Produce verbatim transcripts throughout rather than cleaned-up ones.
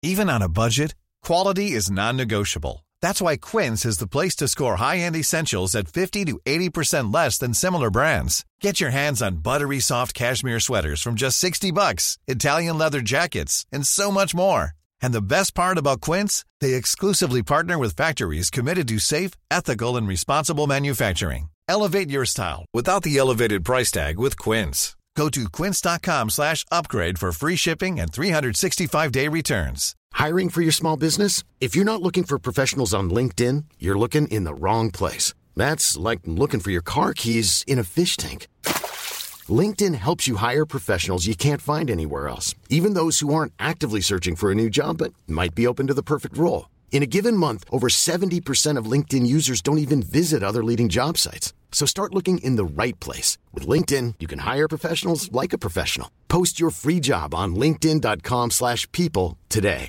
Even on a budget, quality is non-negotiable. That's why Quince is the place to score high-end essentials at fifty to eighty percent less than similar brands. Get your hands on buttery soft cashmere sweaters from just sixty bucks, Italian leather jackets, and so much more. And the best part about Quince, they exclusively partner with factories committed to safe, ethical, and responsible manufacturing. Elevate your style without the elevated price tag with Quince. Go to quince.com slash upgrade for free shipping and three sixty-five day returns. Hiring for your small business? If you're not looking for professionals on LinkedIn, you're looking in the wrong place. That's like looking for your car keys in a fish tank. LinkedIn helps you hire professionals you can't find anywhere else, even those who aren't actively searching for a new job but might be open to the perfect role. In a given month, over seventy percent of LinkedIn users don't even visit other leading job sites. So start looking in the right place. With LinkedIn, you can hire professionals like a professional. Post your free job on linkedin.com slash people today.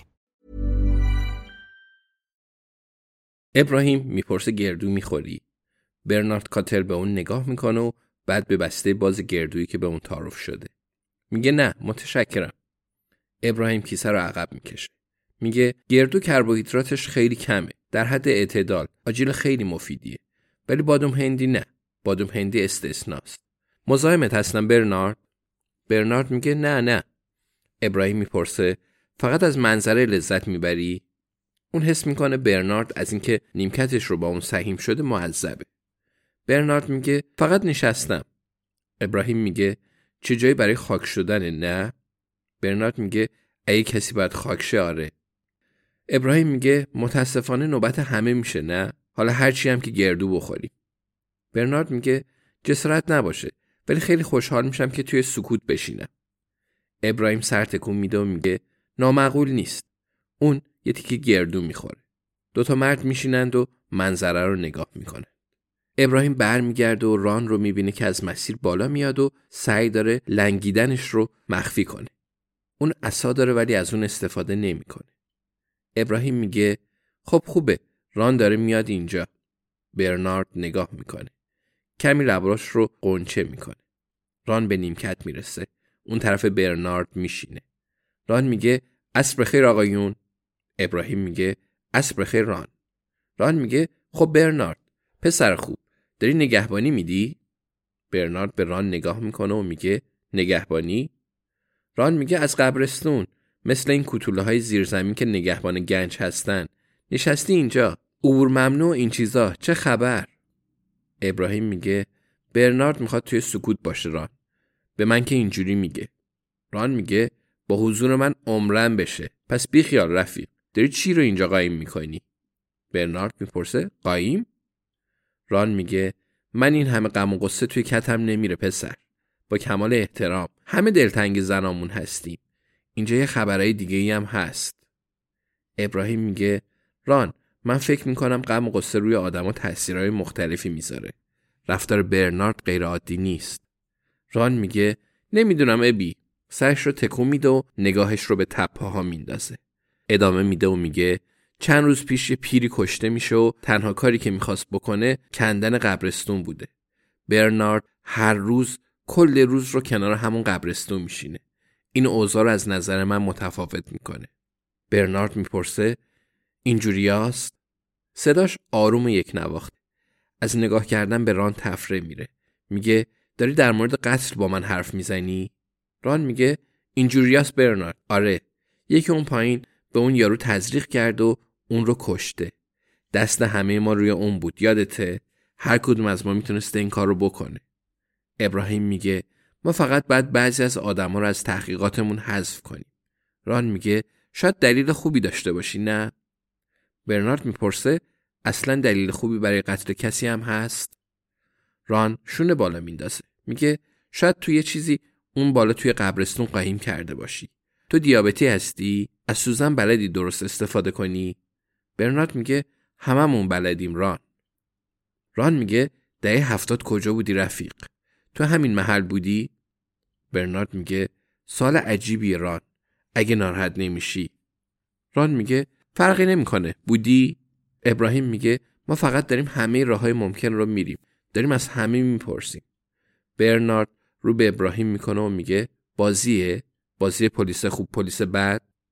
ابراهیم میپرسه گردو میخوری؟ برنارد کاتر به اون نگاه میکنه و بعد به بسته باز گردویی که به اون تعارف شده. میگه نه متشکرم. ابراهیم کیسه رو عقب میکشه. میگه گردو کربوهیدراتش خیلی کمه. در حد اعتدال. آجیل خیلی مفیدیه. ولی بادام هندی نه. بادام هندی استثناست. مزاحمت هستم برنارد؟ برنارد میگه نه نه. ابراهیم میپرسه فقط از منظره لذت میبری؟ اون حس میکنه برنارد از اینکه نیمکتش رو با اون سهیم شده معذبه. برنارد میگه فقط نشستم. ابراهیم میگه چه جایی برای خاک شدنه نه؟ برنارد میگه اگه کسی باید خاک شه آره. ابراهیم میگه متاسفانه نوبت همه میشه نه؟ حالا هرچی هم که گردو بخوریم. برنارد میگه جسارت نباشه ولی خیلی خوشحال میشم که توی سکوت بشینم. ابراهیم سر تکون میده و میگه نامعقول نیست. اون یه تیکه گردو میخوره. دوتا مرد میشینند و منظره رو نگاه میکنه. ابراهیم برمیگرده و ران رو میبینه که از مسیر بالا میاد و سعی داره لنگیدنش رو مخفی کنه. اون عصا داره ولی از اون استفاده نمیکنه. ابراهیم میگه خب خوبه. ران داره میاد اینجا. برنارد نگاه میکنه. کمی لباش رو قنچه میکنه. ران به نیمکت میرسه. اون طرف برنارد میشینه. ران میگه عصر بخیر آقایون. ابراهیم میگه عصر بخیر ران. ران میگه خب برنارد پسر خوب داری نگهبانی میدی؟ برنارد به ران نگاه میکنه و میگه نگهبانی؟ ران میگه از قبرستون مثل این کوتوله های زیرزمین که نگهبان گنج هستن. نشستی اینجا عبور ممنوع این چیزا چه خبر؟ ابراهیم میگه برنارد میخواد توی سکوت باشه ران. به من که اینجوری میگه. ران میگه با حضور من عمرن بشه. پس بی خیال رفیق. داری چی رو اینجا قایم میکنی؟ برنارد میپرسه قایم؟ ران میگه من این همه غم و غصه توی کتم نمیره پسر. با کمال احترام همه دلتنگ زنامون هستیم. اینجا یه خبرای دیگه ای هم هست. ابراهیم میگه ران من فکر میکنم غم و غصه روی آدما تاثیرهای مختلفی میذاره. رفتار برنارد غیر عادی نیست. ران میگه نمیدونم ابی. سرش رو تکون میده و نگاهش رو به تپه‌ها میندازه. ادامه میده و میگه چند روز پیش یه پیری کشته میشه و تنها کاری که میخواست بکنه کندن قبرستون بوده. برنارد هر روز کل روز رو کنار همون قبرستون میشینه. این اوضاع رو از نظر من متفاوت میکنه. برنارد میپرسه اینجوریاست؟ صداش آروم و یک نواخته. از نگاه کردن به ران تفره میره. میگه داری در مورد قتل با من حرف میزنی؟ ران میگه اینجوریاست برنارد. آره. یکی اون پایین به اون یارو تزریق کرد و اون رو کشته. دست همه ما روی اون بود. یادته؟ هر کدوم از ما میتونسته این کار رو بکنه. ابراهیم میگه ما فقط باید بعضی از آدما رو از تحقیقاتمون حذف کنیم. ران میگه شاید دلیل خوبی داشته باشی نه؟ برنارد میپرسه اصلا دلیل خوبی برای قتل کسی هم هست؟ ران شونه بالا میندازه. میگه شاید تو یه چیزی اون بالا توی قبرستون قایم کرده باشی. تو دیابتی هستی؟ از سوزن بلدی درست استفاده کنی؟ برنارد میگه هممون بلدیم ران. ران میگه دهه هفتاد کجا بودی رفیق؟ تو همین محل بودی؟ برنارد میگه سال عجیبیه ران. اگه ناراحت نمیشی. ران میگه فرقی نمیکنه. بودی؟ ابراهیم میگه ما فقط داریم همه راههای ممکن رو میریم. داریم از همه میپرسیم. برنارد رو به ابراهیم میکنه و میگه بازیه؟ بازی پلیس خوب پلیس بد؟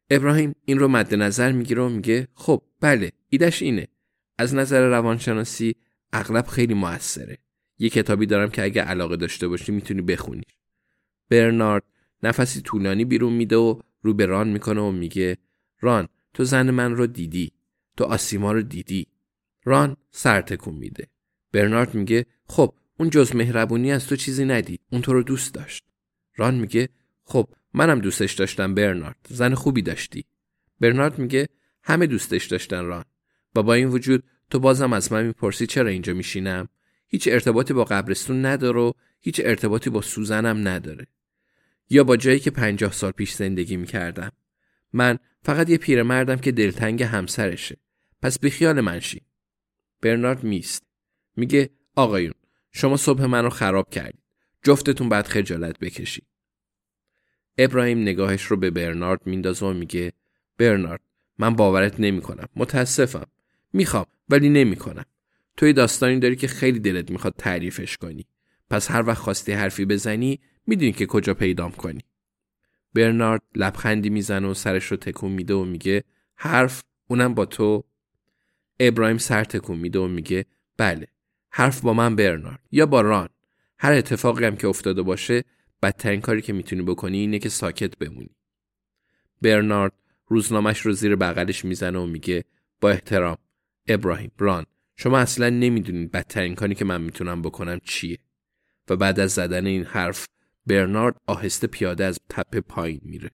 ابراهیم این رو مد نظر میگیره و میگه خب بله ایدش اینه. از نظر روانشناسی اغلب خیلی موثره. یه کتابی دارم که اگه علاقه داشته باشی میتونی بخونی. برنارد نفسی طولانی بیرون میده و رو به ران میکنه و میگه ران تو زن من رو دیدی. تو آسیما رو دیدی. ران سر تکون میده. برنارد میگه خب اون جز مهربونی از تو چیزی ندید. اون تو رو دوست داشت. ران میگه خب منم دوستش داشتم برنارد. زن خوبی داشتی. برنارد میگه همه دوستش داشتن ران. و با این وجود تو بازم از من میپرسی چرا اینجا میشینم؟ هیچ ارتباطی با قبرستون نداره و هیچ ارتباطی با سوزنم نداره. یا با جایی که پنجاه سال پیش زندگی میکردم. من فقط یه پیرمردم که دلتنگ همسرشه. پس بیخیال من شی. برنارد میست. میگه آقایون شما صبح منو خراب کردید. جفتتون باید خجالت بکشید. ابراهیم نگاهش رو به برنارد میندازه و میگه برنارد من باورت نمیکنم. متاسفم. میخوام ولی نمیکنم. توی داستانی داری که خیلی دلت میخواد تعریفش کنی. پس هر وقت خواستی حرفی بزنی میدونی که کجا پیدام کنی. برنارد لبخندی میزنه و سرش رو تکون میده و میگه حرف اونم با تو؟ ابراهیم سر تکون میده و میگه بله حرف با من برنارد یا با ران. هر اتفاقی هم که افتاده باشه بدترین کاری که میتونی بکنی اینه که ساکت بمونی. برنارد روزنامه‌اش رو زیر بغلش میزنه و میگه با احترام ابراهیم ران شما اصلا نمیدونید بدترین کاری که من میتونم بکنم چیه. و بعد از زدن این حرف برنارد آهسته پیاده از تپه پایین میره.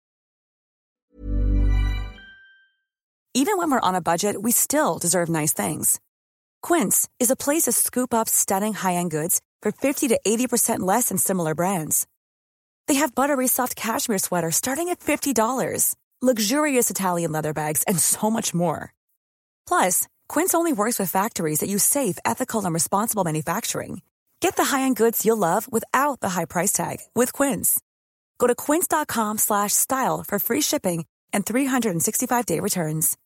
Even when we're on a budget, we still deserve nice things. Quince is a place to scoop up stunning high-end goods for fifty to eighty percent less than similar brands. They have buttery soft cashmere sweaters starting at fifty dollars, luxurious Italian leather bags, and so much more. Plus, Quince only works with factories that use safe, ethical, and responsible manufacturing. Get the high-end goods you'll love without the high price tag with Quince. Go to quince dot com slash style for free shipping and three sixty-five day returns.